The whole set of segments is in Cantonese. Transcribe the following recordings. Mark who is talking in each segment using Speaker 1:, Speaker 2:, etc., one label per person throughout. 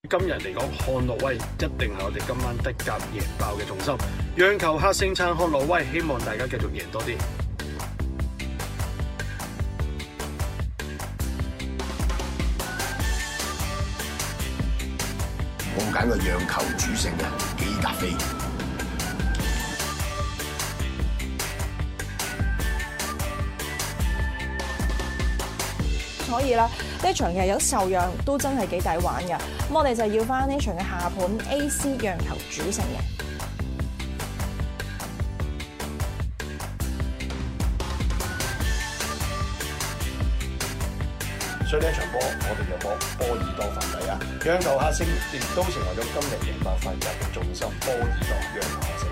Speaker 1: 今日嚟講，漢諾威一定係我哋今晚德甲贏爆嘅重心，讓球客勝撐漢諾威，希望大家繼續贏多啲。
Speaker 2: 我揀個讓球主勝嘅基達菲。
Speaker 3: 所以啦，呢一場其實有受讓都真係幾抵玩嘅。咁我哋就要翻呢場嘅下盤 AC 讓球主勝嘅。
Speaker 1: 所以呢一場波，我哋就攞波爾多反底啊！讓球客勝亦都成為咗今日贏爆法甲嘅重心，波爾多讓球客勝。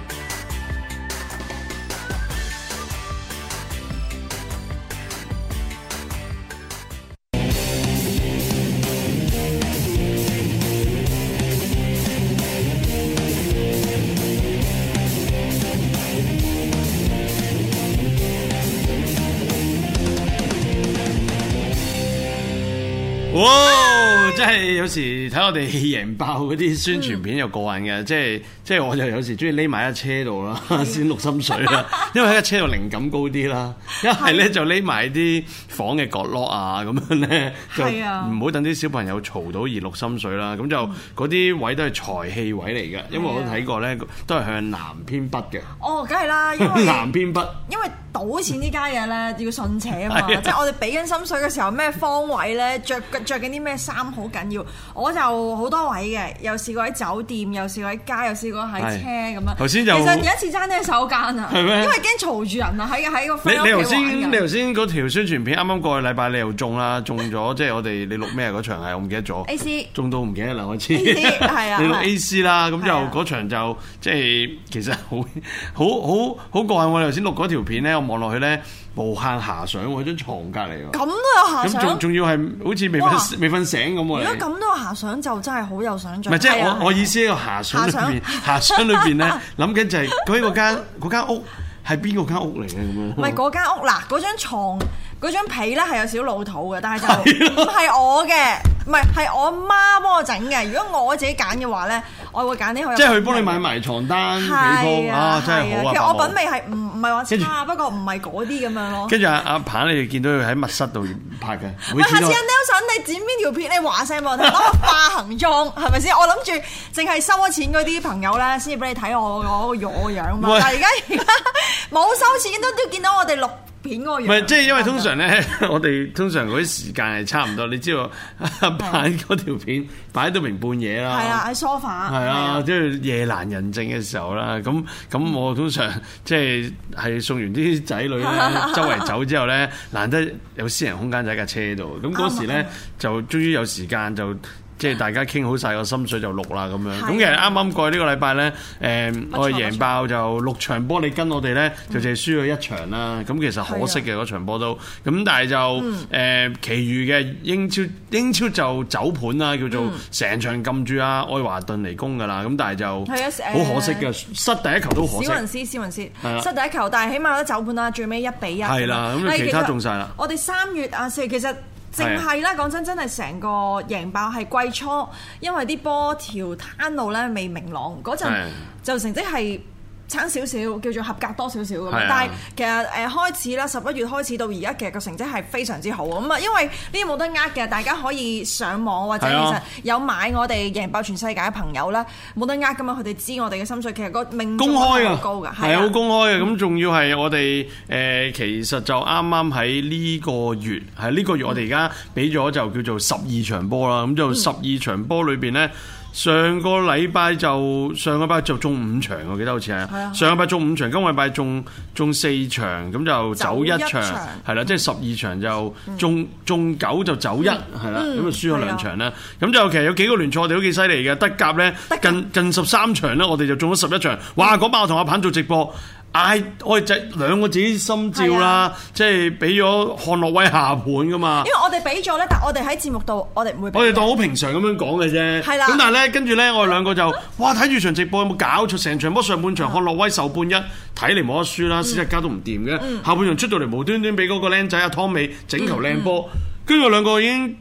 Speaker 1: 哇！真係有時睇我哋贏爆嗰啲宣傳片又過癮嘅，即係我就有時中意匿埋喺車度啦，先錄心水啦。因為喺個車度靈感高啲啦，一係咧就匿埋啲房嘅角落啊，咁樣咧就唔好等啲小朋友嘈到而錄心水啦。咁就嗰啲位都係財氣位嚟嘅，因為我睇過咧都係向南偏北嘅。
Speaker 3: 哦，梗係啦，因為
Speaker 1: 南偏北，
Speaker 3: 因為賭錢呢家嘢咧要信邪啊嘛，即係我哋俾緊心水嘅時候，咩方位咧着緊啲咩衫好緊要。我就好多位嘅，又試過喺酒店，又試過喺街，又試過喺車咁樣。頭先就其實有一次爭啲手間啊，係咩？因為驚嘈住人啊，喺個 friend 屋企玩㗎。
Speaker 1: 你頭先嗰條宣傳片啱啱過去禮拜你又中啦，中咗即係我哋你錄咩嗰場係我唔記得咗。
Speaker 3: AC
Speaker 1: 中到唔記得啦，我知。
Speaker 3: AC 係啊，
Speaker 1: 你錄 AC 啦，咁就嗰場就即係其實好過癮。我哋頭先錄嗰條片咧，我望落去咧。無限遐想喎，張床隔離喎。
Speaker 3: 咁都有遐想。
Speaker 1: 咁仲要係好似未瞓醒咁喎。如果
Speaker 3: 咁都有遐想，就真係好有想像。
Speaker 1: 唔係即係我意思喺個遐想裏邊，遐想裏邊咧諗緊就係究竟嗰間屋係邊個間屋嚟嘅咁樣？
Speaker 3: 唔係嗰間屋嗱，嗰張牀嗰張被咧係有少少老土嘅，但係就唔係我嘅，唔係我媽幫我整嘅。如果我自己揀嘅話咧，我會揀啲好有。
Speaker 1: 即係佢幫你買埋床單、被鋪啊，真係好啊！
Speaker 3: 其實我品味係唔係話差，不過唔係嗰啲咁樣咯。
Speaker 1: 跟住阿鵬，你哋見到佢喺密室度拍嘅。
Speaker 3: 喂，下次阿 Nelson 你剪邊條片，你話聲俾我聽，攞個化行妝係咪先？我諗住淨係收咗錢嗰啲朋友咧，先至俾你睇我嗰個樣嘛。但係而家冇收錢都見到我哋錄片嗰個樣。唔係，
Speaker 1: 即係因為通常咧，我哋通常嗰啲時間係差唔多。你知道阿鵬嗰條片擺到明半夜啦。
Speaker 3: 係啊，喺 sofa。係
Speaker 1: 啊，即係夜闌人靜嘅時候啦。咁我通常即係送完啲仔女咧周圍走之後咧，難得有私人空間喺架車度。咁嗰時咧就終於有時間就。即係大家傾好晒個心水就錄啦咁樣，咁其實啱啱過去呢個禮拜咧，我哋贏爆就6場波，你跟我哋咧就淨係輸咗1場啦。咁其實可惜嘅嗰場波都，咁但係就其餘嘅英超就走盤啦，叫做成場撳住啊愛華頓嚟攻㗎啦。咁但係就好可惜嘅，失第一球都可惜。
Speaker 3: 史雲斯失第一球，但係起碼都走盤啦，最尾1-1。
Speaker 1: 係啦，咁其他中晒啦。
Speaker 3: 我哋3月啊4月其實。淨係啦，講真係成個贏爆係季初，因為啲波條攤路咧未明朗，嗰陣就成績係差少少，叫做合格多少少咁。但係其實開始啦，11月開始到而家，其實個成績係非常之好咁啊！因為呢啲冇得呃嘅，大家可以上網或者其實有買我哋贏爆全世界嘅朋友咧，冇得呃噶嘛，佢哋知我哋嘅心水，其實個命中率好高㗎，
Speaker 1: 係好公開嘅。咁仲要係我哋其實就啱啱喺呢個月，我哋而家俾咗就叫做12場波啦。咁就12場波裏邊咧。上個禮拜就中5場，我記得好似係。上個禮拜中5場，今個禮拜中4場，咁就走1場，係啦，即係12場就中9就走1，係啦，咁就輸咗2場啦。咁就其實有幾個聯賽我哋都幾犀利嘅，德甲咧近13場咧，我哋就中咗11場。哇！嗰晚我同阿鵬做直播。我哋就2個自己心照啦，即係俾咗漢諾威下盤噶嘛。
Speaker 3: 因為我哋俾咗咧，但我哋喺節目度，我哋唔會俾。
Speaker 1: 我哋當好平常咁樣講嘅啫。係啦。咁但係咧，跟住咧，我哋2個就哇睇住場直播有冇搞錯？成場波上半場漢諾威受半1，睇嚟冇得輸啦，史特加都唔掂嘅。下半場出到嚟無端端俾嗰個僆仔阿湯美整球靚波，跟住我2個已經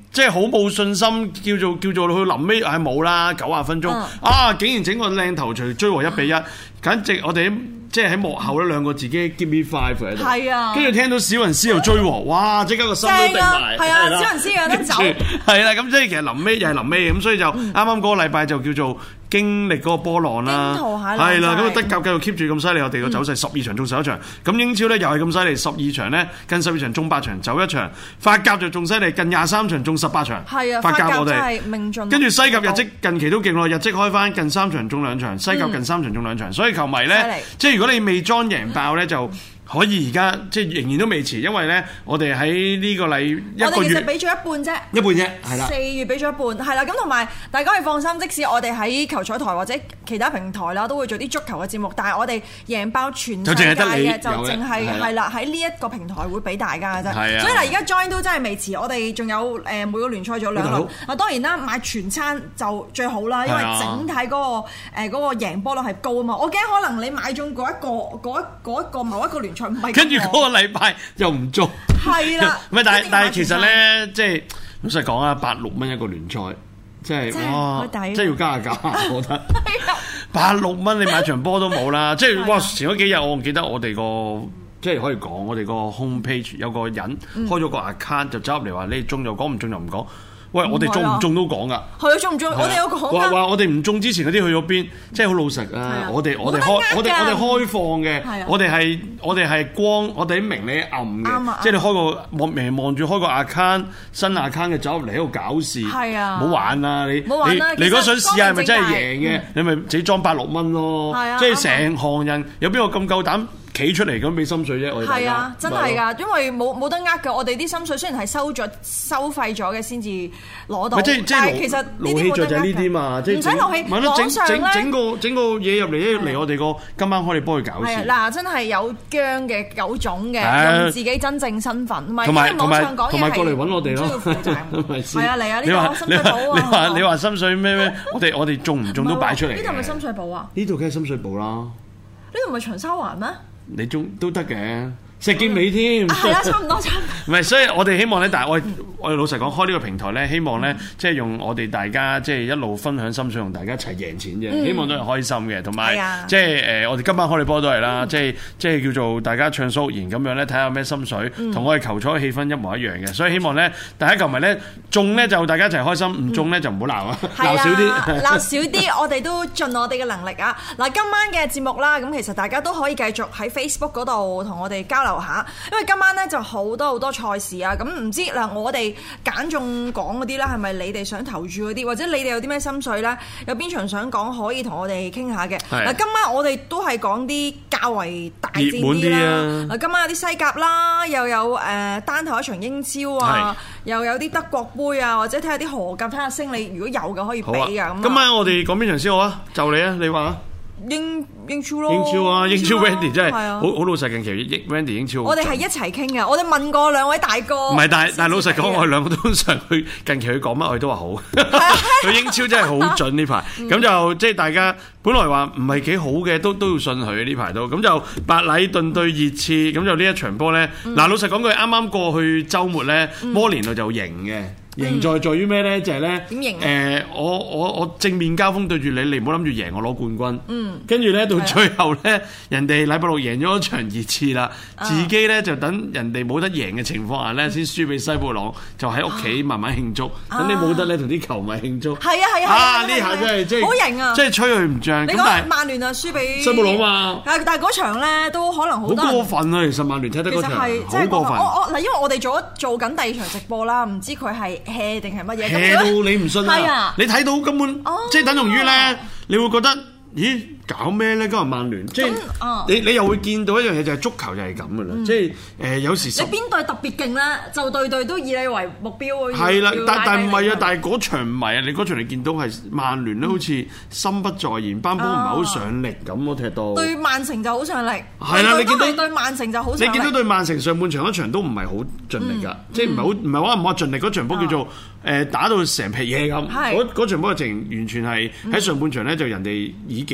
Speaker 1: 即係好冇信心，叫做去臨尾係冇啦，90分鐘竟然整個靚頭槌追和1-1，簡直我哋即係喺幕後咧兩個自己 give me five 喺度，
Speaker 3: 係啊，
Speaker 1: 跟住聽到史雲斯又追和，哇！即刻個心都定埋，
Speaker 3: 係啊，史雲斯有得走，
Speaker 1: 係啦，咁即係其實臨尾又係臨尾咁，所以就啱啱嗰個禮拜就叫做經歷嗰個波浪啦，係啦，咁啊德甲繼續 keep 住咁犀利，我哋個走勢12場中11場，咁英超咧又係咁犀利，12場咧近12場中8場走1場，法甲就仲犀利，近23場中18場，
Speaker 3: 係啊，
Speaker 1: 法甲我哋
Speaker 3: 真係命中，
Speaker 1: 跟住西甲日職近期都勁咯，日職開翻近3場中2場，西甲近3場中2場，所以球迷咧即係如果你未裝贏爆咧就。可以而家即係仍然都未遲，因為咧我哋喺呢個禮一個月，
Speaker 3: 我哋其實俾咗一半啫，
Speaker 1: 係啦。
Speaker 3: 4月俾咗一半，係啦。咁同埋大家可以放心，即使我哋喺球彩台或者其他平台啦，都會做啲足球嘅節目，但係我哋贏爆全世界嘅，就淨係係啦喺呢一個平台會俾大家嘅啫。所以嗱，而家 join 都真係未遲，我哋仲有每個聯賽仲有2輪。啊，當然啦，買全餐就最好啦，因為整體嗰個贏波率係高啊嘛。我驚可能你買中嗰一個某一個聯賽。
Speaker 1: 跟住嗰個禮拜又唔中，
Speaker 3: 係啦。
Speaker 1: 唔係，但係其實咧，即係老實講啊，86蚊一個聯賽，即係哇，即係要加下價，我覺得。86蚊你買場波都冇啦，即係哇！前嗰幾日我記得我哋個即係可以講，我哋個 home page 有個人開咗個 account 就走入嚟話你中就講，唔中就唔講。喂，我哋中唔中都講噶，係啊，中唔中？我哋有講㗎。話我哋唔中之前嗰啲去咗邊，即係好老實啊！我哋開放嘅，我哋係光，我哋明你暗嘅，即係你開個望住開個 account 新 account 嘅走入嚟喺度搞事，係啊，唔好玩啊！你如果想試下係咪真係贏嘅，你咪自己裝86蚊咯，即係成行人有邊個咁夠膽？企出嚟咁俾心水啫，我哋係啊，真係㗎，因為冇得呃㗎。我哋啲心水雖然係收費咗嘅先至攞到，但係其實呢啲冇得呃嘅。就係呢啲嘛，即係唔使勞氣。網上咧整個嘢入嚟我哋個今晚開你幫佢搞事。係啊，嗱，真係有姜嘅有種嘅，用自己真正身份，唔係因為網上講嘢係。同埋過嚟揾我哋咯，係啊，嚟啊！呢個深水埗啊！你話深水咩？我哋中唔中都擺出嚟。呢度係咪深水埗啊？呢度梗係深水埗啦。呢度唔係長沙灣咩？你中都得嘅，石硤尾添。係啦，差唔多。唔係，所以我哋希望咧，但係我哋老實講，開呢個平台咧，希望咧，即係用我哋大家即係一路分享心水，同大家一齊贏錢啫。希望都係開心嘅，同埋即係我哋今晚開你波都係啦，即係叫做大家暢所欲言咁樣咧，睇下咩心水，同我哋球賽嘅氣氛一模一樣嘅。所以希望咧，大家球迷咧中咧就大家一齊開心，唔中咧就唔好鬧啊，鬧少啲，鬧少啲。我哋都盡我哋嘅能力啊！嗱，今晚嘅節目啦，咁其實大家都可以繼續喺 Facebook 嗰度同我哋交流下，因為今晚咧就好多賽事啊！咁唔知嗱，我哋揀中講嗰啲咧，係咪你哋想投注嗰啲，或者你哋有啲咩心水咧？有邊場想講可以同我哋傾下嘅？嗱，今晚我哋都係講啲較為大戰啲啦。嗱，今晚有啲西甲啦，又有單頭一場英超啊，又有啲德國杯啊，或者睇下啲荷甲，睇下升你如果有嘅可以俾啊。咁今晚我哋講邊場先好啊？就你啊，你話啊？英超咯，英超啊，英超 Wendy 真係好老實，近期 Wendy 英超我哋係一齊傾嘅，我哋問過兩位大哥，唔係，但係老實講，我哋兩個通常去近期佢講乜，我哋都話好，佢英超真係好準呢排，咁就即係大家本來話唔係幾好嘅，都要信佢呢排都，咁就白禮頓對熱刺，咁就呢一場波咧，嗱老實講佢啱啱過去週末咧，摩連奴就贏嘅。贏在於咩咧？就係咧，點贏？我正面交鋒對住你，你唔好諗住贏我攞冠軍。跟住咧到最後咧，人哋禮拜六贏咗一場熱刺啦，自己咧就等人哋冇得贏嘅情況下咧，先輸俾西布朗，就喺屋企慢慢慶祝。等你冇得咧，同啲球迷慶祝。係啊！呢下真係即係好型啊！即係吹佢唔脹。你講曼聯啊，輸俾西布朗嘛？但係嗰場咧都可能好多。好過分啊！其實曼聯踢得嗰場好過分。嗱，因為我哋做緊第二場直播啦，唔知佢係hea定係乜嘢？hea到你唔信啊！你睇到根本即係等同於咧，你會覺得咦搞咩咧？今日曼聯即係你又會見到一樣嘢，就係足球就係咁噶啦，即係有時你邊隊特別勁咧，就隊都以你為目標。係啦，但唔係啊！但係嗰場唔係啊！你嗰場你見到係曼聯咧，好似心不在焉，班波唔係好上力咁咯，踢到對曼城就好上力。係啦，你見到對曼城就好上力。你見到對曼城上半場一場都唔係好盡力㗎，即係唔係話盡力嗰場波叫做打到成皮嘢咁。嗰場波嘅情完全係喺上半場咧，就人哋以技術制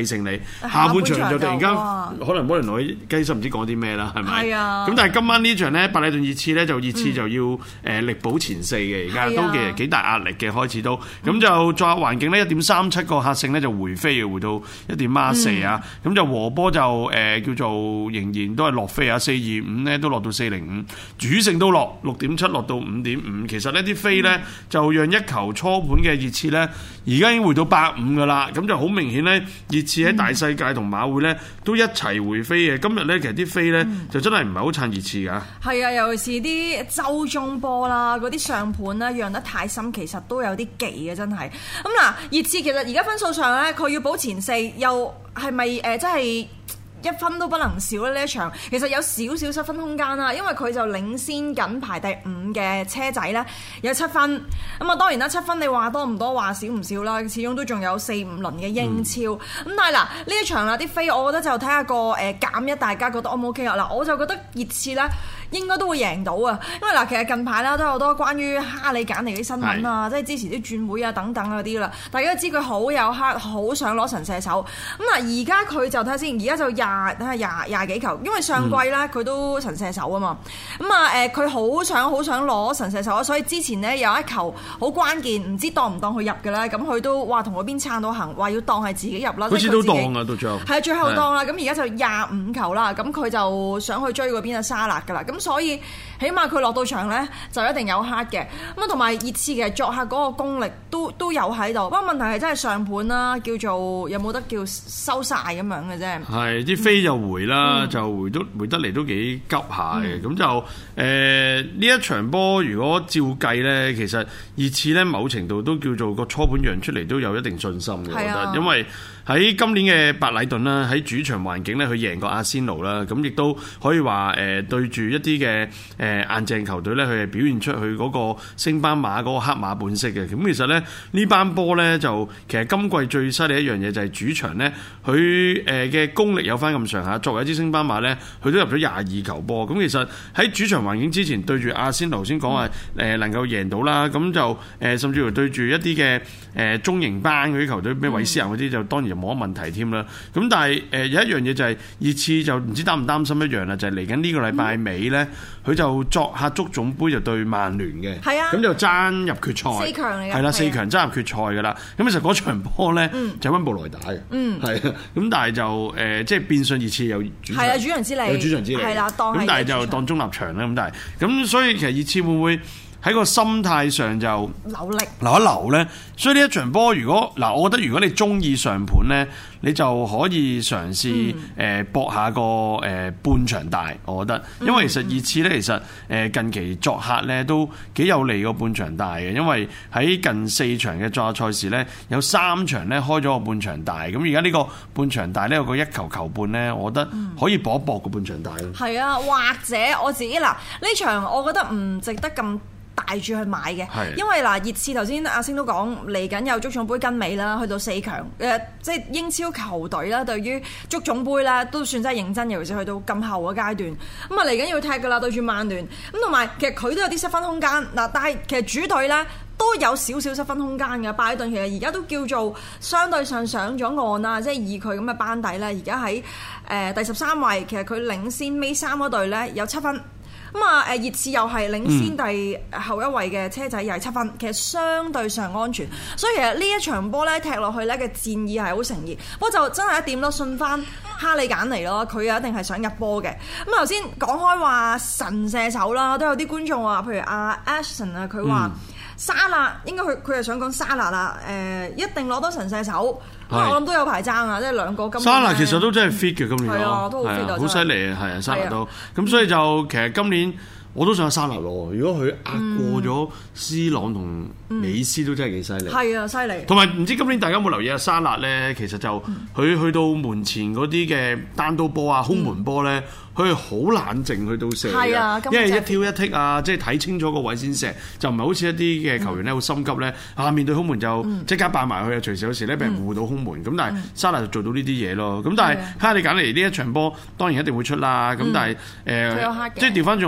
Speaker 1: 勝你，下半場就突然間可能摩連奴雞心唔知講啲咩啦，係咪？
Speaker 3: 係啊。
Speaker 1: 咁但係今晚呢場咧，白禮頓熱刺咧就熱刺就要力保前4嘅，而家都幾大壓力嘅開始都。咁就作客環境咧1.37個客勝咧就回飛嘅，回到1.4啊。咁就和波就叫做仍然都係落飛啊，4.25咧都落到4.05，主勝都落6.7落到5.5。其實呢啲飛咧就讓一球初盤嘅熱刺咧，而家已經回到8.5噶啦。咁就好明顯咧，熱刺喺大世界同馬會咧都一齊回飛嘅。今日咧其實啲飛咧就真係唔係好撐熱刺㗎。係
Speaker 3: 啊，尤其是啲周中波啦，嗰啲上盤咧讓得太深，其實都有啲忌嘅，真係。咁嗱，熱刺其實而家分數上咧，佢要保前4，又係咪真係1分都不能少咧？呢一場其實有少少失分空間啦，因為佢就領先緊排第5嘅車仔咧，有7分。咁啊，當然啦，7分你話多唔多，話少唔少啦，始終都仲有4-5輪嘅英超。咁但係嗱，呢一場啦，啲飛我覺得就睇下個減一，大家覺得 O 唔 OK 啊？嗱，我就覺得熱刺咧應該都會贏到啊，因為嗱，其實近排啦都有好多關於哈利簡尼啲新聞啊，即係支持啲轉會啊等等嗰啲啦。大家都知佢好有黑，好想攞神射手。咁嗱，而家佢就睇下先，而家就廿幾球，因為上季咧佢都神射手啊嘛。咁啊佢好想攞神射手啊，所以之前呢有一球好關鍵，唔知當唔當佢入嘅咧，咁佢都話同嗰邊撐到行，話要當係自己入啦。好似
Speaker 1: 都當啊，到最後
Speaker 3: 係最後當啦。咁而家就25球啦，咁佢就想去追嗰邊嘅沙勒噶啦。咁所以起碼佢落到場咧就一定有黑嘅。咁啊同埋熱刺嘅作客嗰個功力都有喺度。不過問題係真係上盤啦，叫做有冇得叫收晒咁樣嘅啫。係
Speaker 1: 啲飛就回啦，就回得嚟都幾急下嘅。咁就呢一場波如果照計咧，其實熱刺咧某程度都叫做個初盤讓出嚟都有一定信心嘅，我覺得，因為喺今年嘅白禮頓啦，喺主場環境咧，佢贏過阿仙奴啦，咁亦都可以話對住一啲嘅硬淨球隊咧，佢係表現出佢嗰個升班馬嗰個黑馬本色嘅。咁其實咧呢班波咧就其實今季最犀利一樣嘢就係主場咧，佢嘅功力有翻咁上下。作為一支升班馬咧，佢都入咗22球波。咁其實喺主場環境之前對住阿仙奴先講話能夠贏到啦，咁就甚至乎對住一啲嘅中型班嗰啲球隊，咩韋斯咸嗰啲就當然冇乜問題添啦。咁但係有一樣嘢就係熱刺就唔知擔唔擔心一樣啦，就係嚟緊呢個禮拜尾咧，佢就作客足總杯就對曼聯嘅，咁就爭入決賽，4強嚟嘅，係啦，4強爭入決賽噶啦。咁其實嗰場波咧就溫布萊打嘅，係啊。咁但係就即係變相熱刺有主場，係啊，主場之利，有主場之利，係啦，咁但係就當中立場啦。咁但係咁，所以其實熱刺會唔會喺個心態上就留一留咧？所以呢一場波，如果嗱，我覺得如果你中意上盤咧，你就可以嘗試搏下個半場大，我覺得，因為其實熱刺咧，其實近期作客咧都幾有利個半場大嘅，因為喺近4場嘅作客賽事咧，有3場咧開咗個半場大，咁而家呢個半場大咧有個1球半咧，我覺得可以搏一搏個半場大咯。係啊，或者我自己嗱呢場，我覺得唔值得咁大注去買嘅，因為嗱熱刺頭先阿星都講嚟緊有足總杯跟尾啦，去到4強，即係英超球隊啦，對於足總杯啦都算真係認真，尤其是去到咁後嘅階段，咁啊嚟緊要踢噶啦，對住曼聯，咁同埋其實佢都有啲失分空間嗱，但係其實主隊咧都有少少失分空間嘅。拜頓其實而家都叫做相對上上咗岸啦，即係以佢咁嘅班底咧，而家喺第13位，其實佢領先尾3嗰隊咧有7分。咁啊，熱刺又係領先第後一位嘅車仔，又係7分，其實相對上安全。所以其實呢一場波咧踢落去咧嘅戰意係好誠意。不過就真係一點咯，信翻哈利簡尼咯，佢一定係想入波嘅。咁頭先講開話神射手啦，都有啲觀眾話，譬如阿 Ashton 啊，佢話沙勒應該佢係想講沙勒啦，一定攞到神射手。我諗都有排爭啊，即係兩個今年沙拿其實都真係 fit 嘅今年，係啊，都好 fit 啊，好犀利啊，係啊，沙拿都咁，所以就其實今年我都想沙拿攞。如果佢壓過咗斯朗同美斯，都真係幾犀利。係啊，犀利。同埋唔知今年大家有冇留意啊？沙拿咧，其實就佢去到門前嗰啲嘅單刀波啊、空門波咧。佢好冷靜去到射嘅，因為一挑一剔啊，即係睇清楚個位先射，就唔係好似一啲嘅球員咧好心急咧，面對空門就即刻扮埋去啊，隨時有時咧俾人護到空門。咁但係沙拿就做到呢啲嘢咯。咁但係哈利簡尼呢一場波當然一定會出啦。咁但係即係調翻轉，我覺得如果你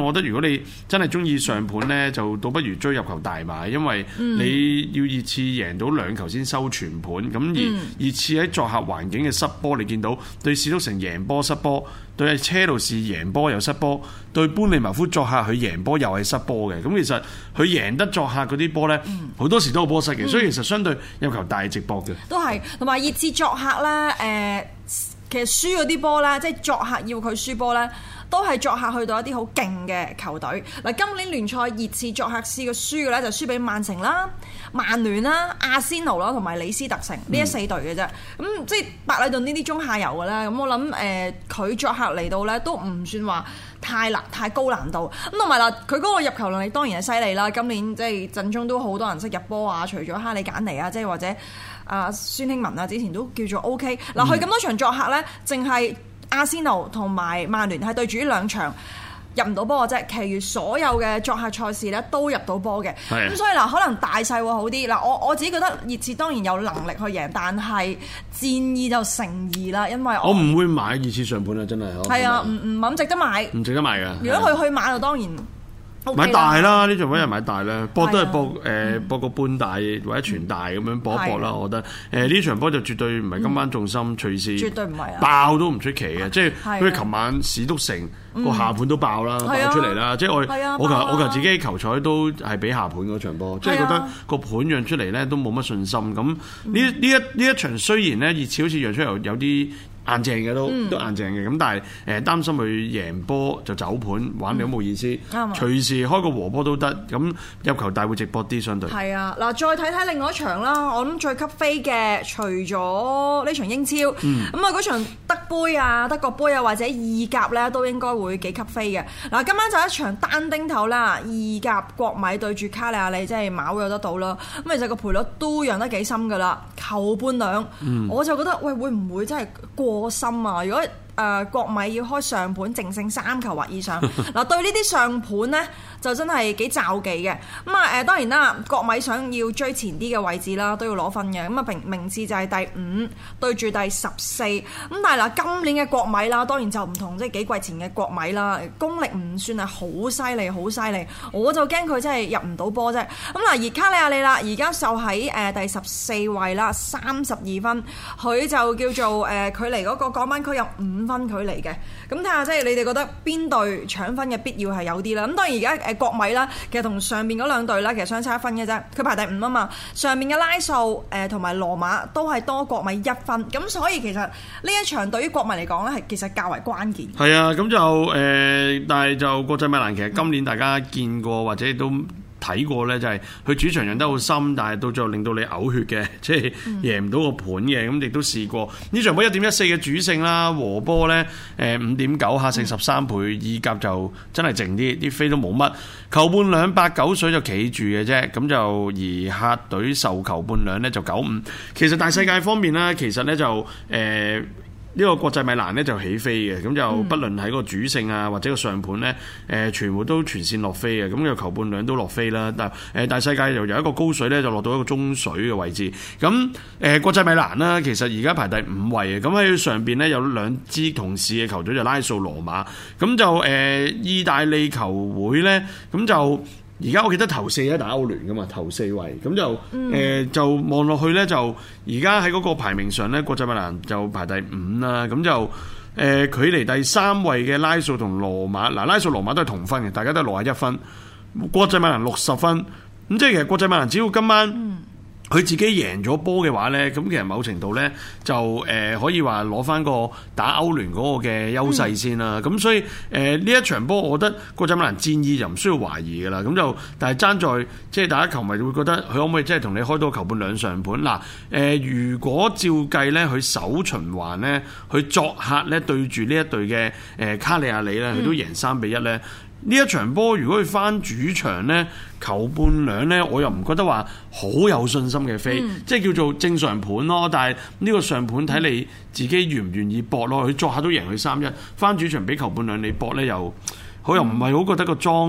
Speaker 1: 你真係中意上盤咧，就倒不如追入球大買，因為你要熱刺贏到2球先收全盤。咁而熱刺喺作客環境嘅失波，你見到對史篤城贏波失波，對車路士贏波又失波，對般尼茅夫作客佢贏波又係失波嘅。咁其實佢贏得作客嗰啲波咧，好多時都有波失嘅，所以其實相對入球大直播嘅。
Speaker 3: 都係，同埋熱刺作客咧，其實輸嗰啲波咧，即係作客要佢輸波咧，都係作客去到一啲好勁嘅球隊。嗱，今年聯賽熱刺作客試過輸嘅咧，就輸俾曼城啦、曼聯啦、阿仙奴啦同埋李斯特城呢4隊嘅啫。咁即係白禮頓呢啲中下游嘅咧，咁我諗佢作客嚟到咧都唔算話太高難度。咁同埋嗱，佢嗰個入球能力當然係犀利啦。今年即係陣中都好多人識入波啊，除咗哈利簡尼啊，即係或者孫興文啊，之前都叫做 OK。嗱，佢咁多場作客咧，淨係阿仙奴同埋曼聯係對住呢2場入唔到波嘅啫，其餘所有嘅作客賽事咧都入到波嘅。咁所以嗱，可能大細會好啲。嗱，我自己覺得熱刺當然有能力去贏，但係戰意就成疑啦，因為
Speaker 1: 我唔會買熱刺上盤啊，真係。係
Speaker 3: 啊，唔咁值得買。唔
Speaker 1: 值得買㗎。
Speaker 3: 如果佢去買就當然。
Speaker 1: 買大啦，呢場位又買大啦，博都係博個半大或者全大咁樣博一博啦。我覺得呢場波就絕對唔係今晚重心，隨時絕對唔係爆都唔出奇嘅。即係好似琴晚史篤城個下盤都爆啦，爆出嚟啦。即係我求自己球彩都係俾下盤嗰場波，即係覺得個盤讓出嚟咧都冇乜信心。咁呢一場雖然咧熱刺好似讓出有啲硬淨嘅都硬淨嘅，咁但係擔心佢贏波就走盤玩你都冇意思，隨時開個和波都得，咁入球大會直播啲相對。係
Speaker 3: 啊，嗱再睇睇另外一場啦，我諗最吸飛嘅除咗呢場英超，咁啊嗰場德杯啊、德國杯啊或者意甲咧都應該會幾吸飛嘅。嗱今晚就一場單丁頭啦，意甲國米對住卡利亞里，即係馬會有得到啦。咁其實個賠率都讓得幾深㗎啦，球半兩，我就覺得喂會唔會真係過深啊？如果國米要開上盤淨勝3球或以上，嗱對呢啲上盤呢，就真係幾詐忌嘅。咁當然啦，國米想要追前啲嘅位置啦，都要攞分嘅。咁名次就係第5對住第14。咁但係嗱，今年嘅國米啦，當然就唔同即係幾季前嘅國米啦，功力唔算係好犀利，好犀利。我就驚佢真係入唔到波啫。咁嗱，而卡利亞里啦，而家就喺第14位啦，32分，佢就叫做距離嗰個降班區有5分距離嘅。咁睇下即係你哋覺得邊隊搶分嘅必要係有啲啦。咁當然而家國米啦，其實同上面嗰2隊啦，其實相差1分嘅啫。佢排第5啊嘛，上面嘅拉素同埋羅馬都係多國米1分。咁所以其實呢一場對於國米嚟講咧，係其實較為關鍵。
Speaker 1: 係啊，咁就但係就國際米蘭其實今年大家見過或者都睇過咧，就係佢主場贏得好深，但係到最後令到你嘔血嘅，即係贏唔到個盤嘅。咁亦都試過呢場波1.14嘅主勝啦，和波咧5.9客勝13倍，意甲就真係靜啲，啲飛都冇乜，球半兩8-9水就企住嘅啫。咁就而客隊受球半兩咧就9-5。其實大世界方面咧，其實咧就呢個國際米蘭咧就起飛嘅，咁就不論喺個主勝啊或者個上盤咧，全部都全線落飛嘅，咁個球半兩都落飛啦。但大世界又由一個高水咧就落到一個中水嘅位置。咁國際米蘭啦，其實而家排第5位嘅，咁喺上邊咧有2支同市嘅球隊就拉素羅馬，咁就意大利球會咧，咁就。而家我記得頭4咧打歐聯噶嘛，頭4位咁就就望落去咧，就而家喺嗰個排名上咧，國際米蘭就排第5啦。咁就距離第3位嘅拉素同羅馬，嗱拉素羅馬都係同分嘅，大家都係61分，國際米蘭60分。咁即係其實國際米蘭只要今晚佢自己贏咗波嘅話呢，咁其實某程度呢，就可以話攞翻個打歐聯嗰個嘅優勢先啦。咁所以呢一場波，我覺得國際米蘭戰意就唔需要懷疑㗎啦。咁就但係爭在即係大家球迷會覺得佢可唔可以即係同你開到球半兩上盤嗱？如果照計呢，佢首循環呢，佢作客呢對住呢一隊嘅卡利亞里呢，佢都贏3-1呢。呢一場波如果佢翻主場呢，球半兩呢，我又唔覺得話好有信心嘅飛，即係叫做正常盤咯。但係呢個上盤睇你自己願唔願意搏咯。佢作客都贏佢3-1，翻主場俾球半兩你搏呢，又好又唔係好覺得個莊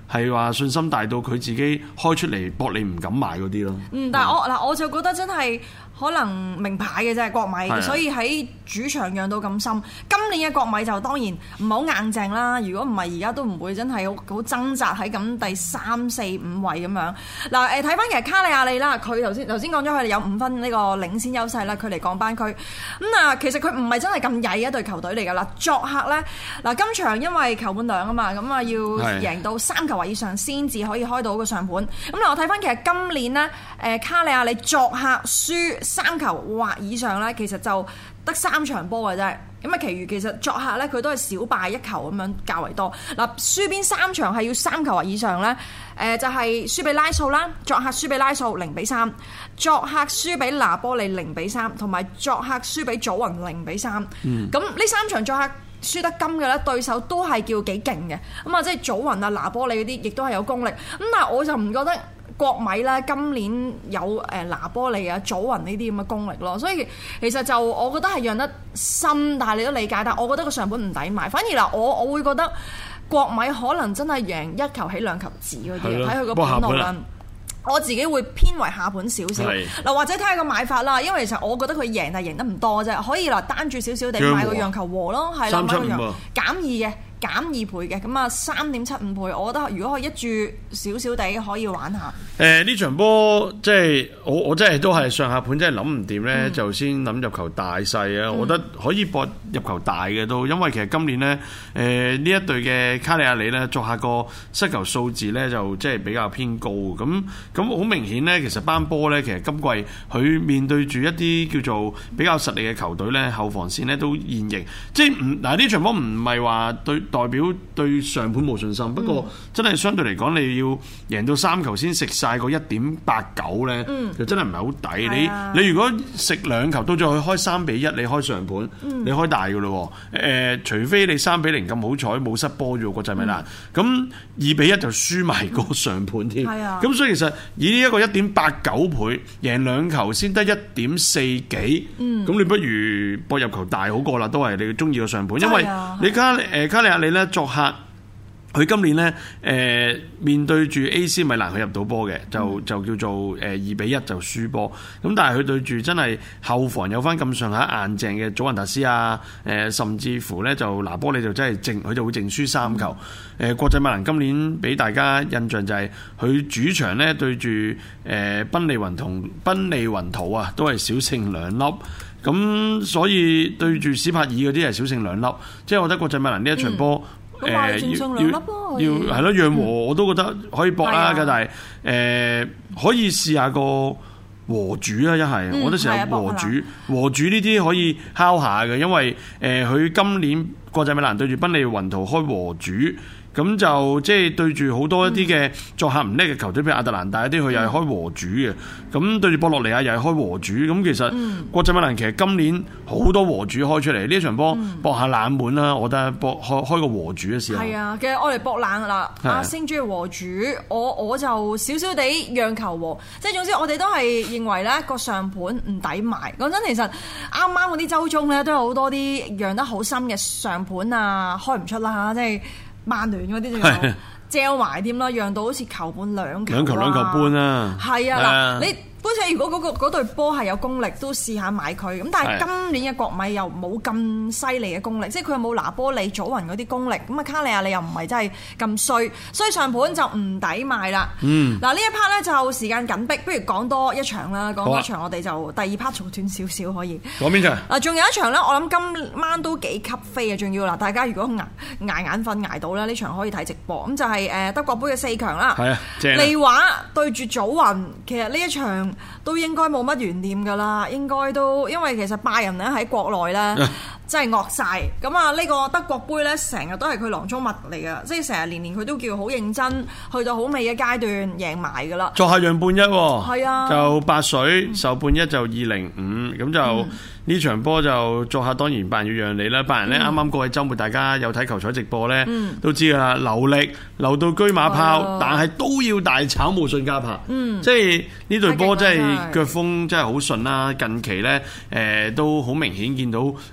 Speaker 1: 係話信心大到佢自己開出嚟搏你唔敢買嗰啲咯。
Speaker 3: 但係我就覺得真係可能名牌嘅啫國米，所以喺主場讓到咁深。今年嘅國米就當然唔好硬淨啦，如果唔係而家都唔會真係好掙扎喺咁第3、4、5位咁樣。嗱睇翻其實卡里亞利啦，佢頭先講咗佢哋有5分呢個領先優勢啦，佢離降班區。其實佢唔係真係咁曳一隊球隊嚟㗎啦。作客咧今場因為球半兩啊嘛，咁要贏到3球或以上先至可以開到個上盤。我睇翻其實今年呢，卡里亞利作客輸3球或以上咧，其實就得3場波嘅啫。其餘其實作客咧，佢都係小敗1球咁樣較為多。輸邊3場係要3球或以上咧？就係輸俾拉素啦，作客輸俾拉素0-3，作客輸俾拿波利0-3，同埋作客輸俾祖雲0-3。咁呢3場作客輸得金嘅咧，對手都係叫幾勁嘅。即係祖雲啊、拿波利嗰啲，亦都係有功力。但係我就唔覺得國米咧今年有拿波利啊、祖雲呢啲咁嘅功力咯，所以其實就我覺得係讓得深，但係你都理解。但我覺得個上盤唔抵買，反而我會覺得國米可能真係贏1球起2球止嗰啲，睇佢個盤路啦。我自己會偏為下盤少少，或者睇下個買法啦，因為其實我覺得佢贏但係贏得唔多啫，可以單注少少地買個讓球和咯，係啦，買個讓減2嘅。減2倍嘅，咁3.75倍，我覺得如果可以一注少少地可以玩下。
Speaker 1: 呢場波即係我真係都係上下盤真係諗唔掂咧，就先諗入球大細啊！我覺得可以搏入球大嘅都，因為其實今年呢，呢一隊嘅卡里亞里呢，作客個失球數字呢，就即係比較偏高，咁好明顯呢，其實班波呢，其實今季佢面對住一啲叫做比較實力嘅球隊呢，後防線呢都現形，即係呢場波唔係話代表對上盤冇信心，不過真係相對嚟講，你要贏到3球先食晒個1.89咧，就真係唔係好抵。你如果食2球，到最後開3-1，你開上盤，你開大噶咯。除非你3-0咁好彩冇失波咗國際米蘭，咁2-1就輸埋個上盤添。咁所以其實以呢一個1.89倍贏2球先得1.4幾，咁你不如博入球大好過啦，都係你中意個上盤，因為你卡里亞里咧作客，佢今年咧面對住 AC 米蘭佢入到波嘅，就叫做2-1就輸波。咁但係佢對住真係後防有翻咁上下硬淨嘅祖雲達斯啊，甚至乎咧就拿波利就真係佢就會淨輸3球。國際米蘭今年俾大家印象就係佢主場咧對住賓利雲圖啊，都係小勝2粒。咁所以對住史柏爾嗰啲係小勝2粒，即係我覺得國際米蘭呢一場波
Speaker 3: 要
Speaker 1: 係咯讓和我都覺得可以搏啦，但係可以試下個和主啊，一係我覺得成日和主呢啲可以敲下嘅，因為佢今年國際米蘭對住賓利雲圖開和主。咁就即係對住好多一啲嘅作客唔叻嘅球隊，譬如亞特蘭大一啲，佢又係開和主嘅。咁對住波洛尼亞又係開和主。咁其實國際米蘭其實今年好多和主開出嚟，呢一場波搏下冷門啦，我覺得開個和主嘅時候。
Speaker 3: 係啊，其實我哋搏冷啦。阿星中意和主，我就少少地讓球和。即係總之我哋都係認為咧個上盤唔抵買。講真，其實啱啱嗰啲週中咧都有好多啲讓得好深嘅上盤啊，開唔出啦，即係。曼聯嗰啲仲有借埋添啦，讓到好似球半2球
Speaker 1: 2球半啊！
Speaker 3: 係啊，嗱你。般且如果嗰隊波係有功力，都試下買佢。咁但係今年嘅國米又冇咁犀利嘅功力，即係佢又冇拿波利、祖雲嗰啲功力。咁啊卡里亞利又唔係真係咁衰，所以上盤就唔抵買啦。嗱呢一 part 咧就時間緊迫，不如講多一場啦。講多一場我哋就第2 part 仲短少少可以。
Speaker 1: 講邊場？
Speaker 3: 嗱仲有一場咧，我諗今晚都幾吸飛啊！仲要嗱，大家如果捱眼瞓捱到咧，呢場可以睇直播。咁就係德國杯嘅4強啦。係啊，利華對住祖雲，其實呢一場都應該冇乜懸念㗎啦，應該都因為其實拜仁咧喺國內咧真係惡晒。咁啊呢個德國杯咧成日都係佢囊中物嚟㗎，即係成日年佢都叫好認真，去到好尾嘅階段贏埋㗎啦。
Speaker 1: 作客讓半1，
Speaker 3: 係啊，
Speaker 1: 就8水受半1就2.05，咁就。呢場波就作客，當然拜仁要讓你啦。拜仁咧啱啱過去週末，大家有睇球賽直播咧，都知㗎啦，流力流到車馬炮，但係都要大炒無信加拍。即係呢隊波真係腳風真係好順啦。近期咧都好明顯見到呢個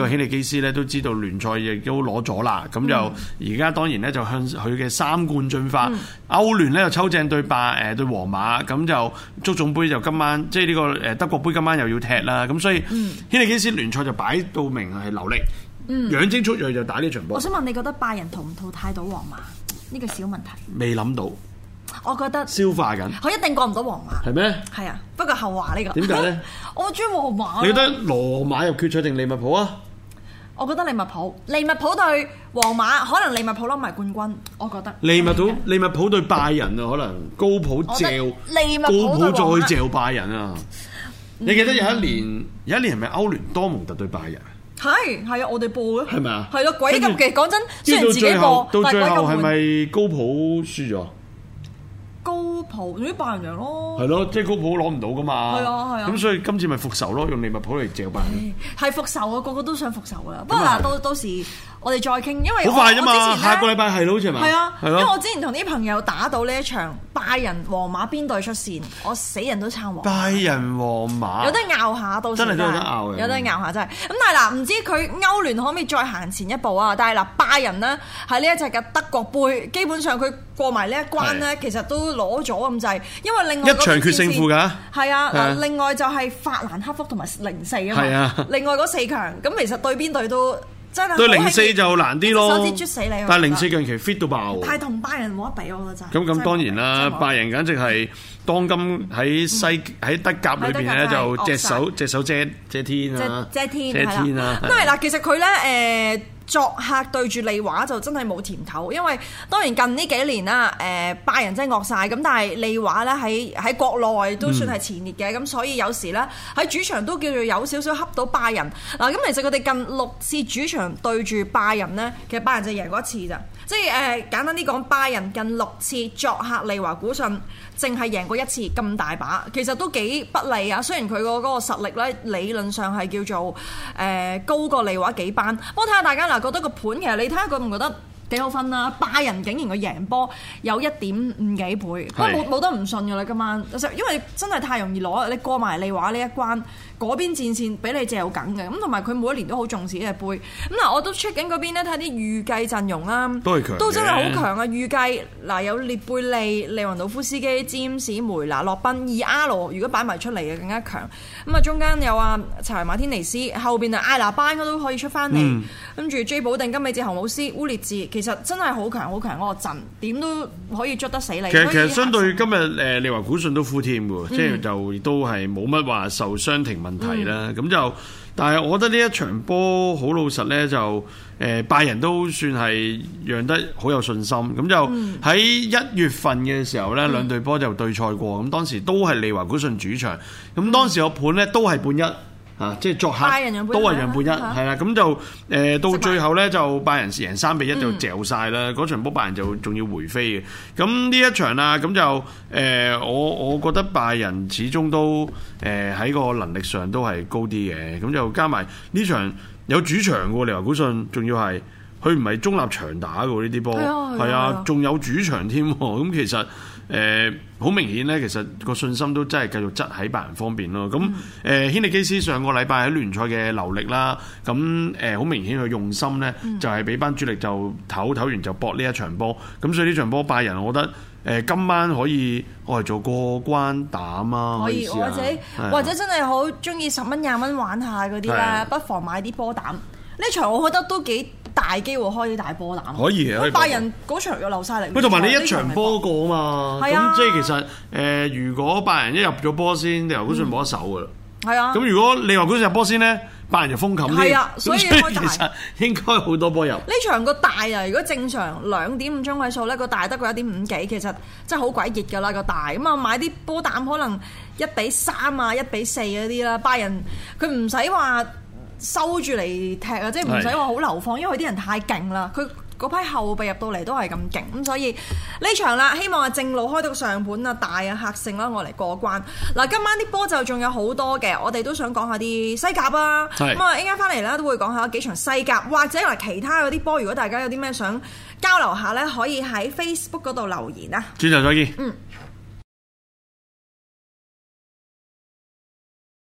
Speaker 1: 個希利基斯咧都知道聯賽亦都攞咗啦，咁就而家當然咧就向佢嘅3冠進發。歐聯咧就抽正對皇馬，咁就足總杯就今晚即係呢個德國杯今晚又要踢啦，咁所以希利基斯聯賽就擺到明係留力，養精蓄銳就打呢場波。
Speaker 3: 我想問你覺得拜仁淘唔淘汰到皇馬呢個小問題？
Speaker 1: 未諗到。
Speaker 3: 我覺得
Speaker 1: 消化緊，
Speaker 3: 佢一定過唔到皇馬。
Speaker 1: 係咩？
Speaker 3: 係啊，不過後話呢個。
Speaker 1: 點解咧？
Speaker 3: 我中意皇馬。
Speaker 1: 你覺得羅馬入決賽定利物浦啊？
Speaker 3: 我覺得利物浦對皇馬，可能利物浦攞埋冠軍。我覺得
Speaker 1: 利物浦對拜仁啊，可能高普再嚼拜仁啊！你記得有一年係咪歐聯多蒙特對拜仁？
Speaker 3: 係啊，我哋播嘅
Speaker 1: 係咪啊？
Speaker 3: 係咯，鬼咁嘅。講真，雖然自己播，
Speaker 1: 到最後係咪高普輸咗？
Speaker 3: 高普啲拜仁贏咯，
Speaker 1: 係咯，即係高普攞唔到噶嘛。
Speaker 3: 係啊，
Speaker 1: 咁所以今次咪復仇咯，用利物浦嚟嚼拜仁。
Speaker 3: 係復仇啊！個個都想復仇噶。不過嗱，到時我哋再傾，因為
Speaker 1: 好快啫嘛，下個禮拜係咯，好似係咪？
Speaker 3: 係啊，因為我之前同啲朋友打到呢一場拜仁皇馬邊隊出線，我死人都撐皇馬。拜
Speaker 1: 仁皇馬
Speaker 3: 有得拗下，到時
Speaker 1: 真係都有得拗嘅，
Speaker 3: 有得拗下真係。咁但係嗱，唔知佢歐聯可唔可以再行前一步啊？但係嗱，拜仁呢，喺呢一隻嘅德國杯，基本上佢過埋呢一關呢，其實都攞咗咁滯。因為另外
Speaker 1: 一場決勝負㗎。
Speaker 3: 係啊，另外就係法蘭克福同埋04啊嘛。係啊，另外嗰4強，咁其實對邊隊都真係對
Speaker 1: 04就難啲咯。
Speaker 3: 手指啜死你！
Speaker 1: 但係04近期 fit 到爆。
Speaker 3: 但係同拜仁冇得比，我覺得真係。
Speaker 1: 咁當然啦，拜仁簡直係當今喺德甲裏邊咧就隻手遮天啊！
Speaker 3: 遮天啊！因為嗱，其實佢咧作客對住利華就真係冇甜頭，因為當然近呢幾年啦，拜仁真係惡晒咁，但係利華咧喺國內都算係前列嘅，咁所以有時咧喺主場都叫做有少少恰到拜仁嗱。咁其實佢哋近6次主場對住拜仁呢，其實拜仁就贏過1次咋，即係簡單啲講，拜仁近6次作客利華古遜淨係贏過1次咁大把，其實都幾不利啊。雖然佢嗰個實力咧理論上係叫做高過利華幾班，不過睇下大家嗱覺得個盤其實你睇下覺唔覺得幾好分啦？拜仁竟然佢贏波有1.5幾倍，不過冇得唔信㗎啦今晚，因為真係太容易攞，你過埋利華呢一關。嗰邊戰線俾你嚼緊嘅，咁同埋佢每一年都好重視呢隻杯。咁嗱，我都 check 緊嗰邊咧，睇啲預計陣容啦，都真係好強啊！預計嗱有列貝利、利雲道夫斯基、詹士、梅拿、洛賓、2R，如果擺埋出嚟嘅更加強。咁啊，中間有查維馬天尼斯，後邊艾拿班都可以出翻嚟，跟住 J 保定、金美治、侯姆斯、烏列治，其實真係好強好強嗰個陣，點都可以捉得死你。
Speaker 1: 其實相對今日利華古遜都 full team 喎，即係就亦都係冇乜話受傷停問題啦，咁就，但係我覺得呢一場波好老實呢，就拜仁都算係讓得好有信心，咁就喺1月份嘅時候呢，兩隊波就對賽過，咁當時都係利華古遜主場，咁當時個盤呢都係半1。即係作客都係讓半1，係啦，咁就到最後咧就拜仁贏3-1就嚼晒啦。嗰場波拜仁就仲要回飛嘅。咁呢一場啊，咁就我覺得拜仁始終都喺個能力上都係高啲嘅。咁就加埋呢場有主場嘅利華古遜，仲要係佢唔係中立場打嘅呢啲波，係啊，仲有主場添。咁其實好明顯咧，其實個信心都真係繼續執喺拜仁方面咯。咁軒尼基斯上個禮拜喺聯賽嘅留力啦，咁好明顯佢用心咧，就係俾班主力就唞完就搏呢一場波。咁所以呢場波拜仁，我覺得今晚可以我係做過關膽啊，
Speaker 3: 可以或者真係好中意10蚊20蚊玩下嗰啲咧，不妨買啲波膽。呢場我覺得都幾大機會開啲大波膽，
Speaker 1: 可以嘅。
Speaker 3: 拜仁嗰場又流晒嚟，
Speaker 1: 喂，同埋你一場波過啊嘛，咁即係其實如果拜仁一入咗波先，利華古遜冇得守噶啦。係啊，咁如果利華古遜入波先咧，拜仁就封冚啲。係啊，所以其實應該好多波入。呢場個大啊，如果正常2.5中位數咧，個大得個1.5幾，其實真係好鬼熱㗎啦個大。咁啊買啲波膽可能1-3啊、1-4嗰啲啦。拜仁佢唔使話收住嚟踢啊，即係唔使話好流放，因為佢啲人太勁啦。佢嗰批後備入到嚟都係咁勁，咁所以呢場啦，希望係正路開到上盤啊，大啊客勝啦，我嚟過關。嗱，今晚啲波就仲有好多嘅，我哋都想講下啲西甲啊。咁啊，一陣間翻嚟啦，都會講下幾場西甲，或者嗱其他嗰啲波，如果大家有啲咩想交流下咧，可以喺 Facebook 嗰度留言啊。轉頭再見。